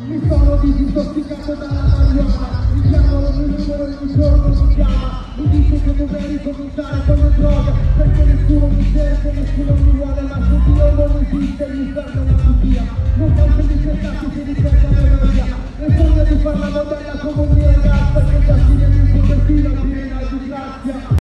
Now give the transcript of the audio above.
Mi sono disintossicato dalla marijuana, mi chiamano il mio numero e ogni giorno mi chiama. Mi dice che dovrei ricominciare con le droghe, perché nessuno mi cerca, nessuno mi vuole, ma se Dio non esiste l'inferno è una bugia. Non tanto di cercati si ricerca la via, nel sogno di far la modella come un mio ragazzo, che già si viene in copertina piena di grazia.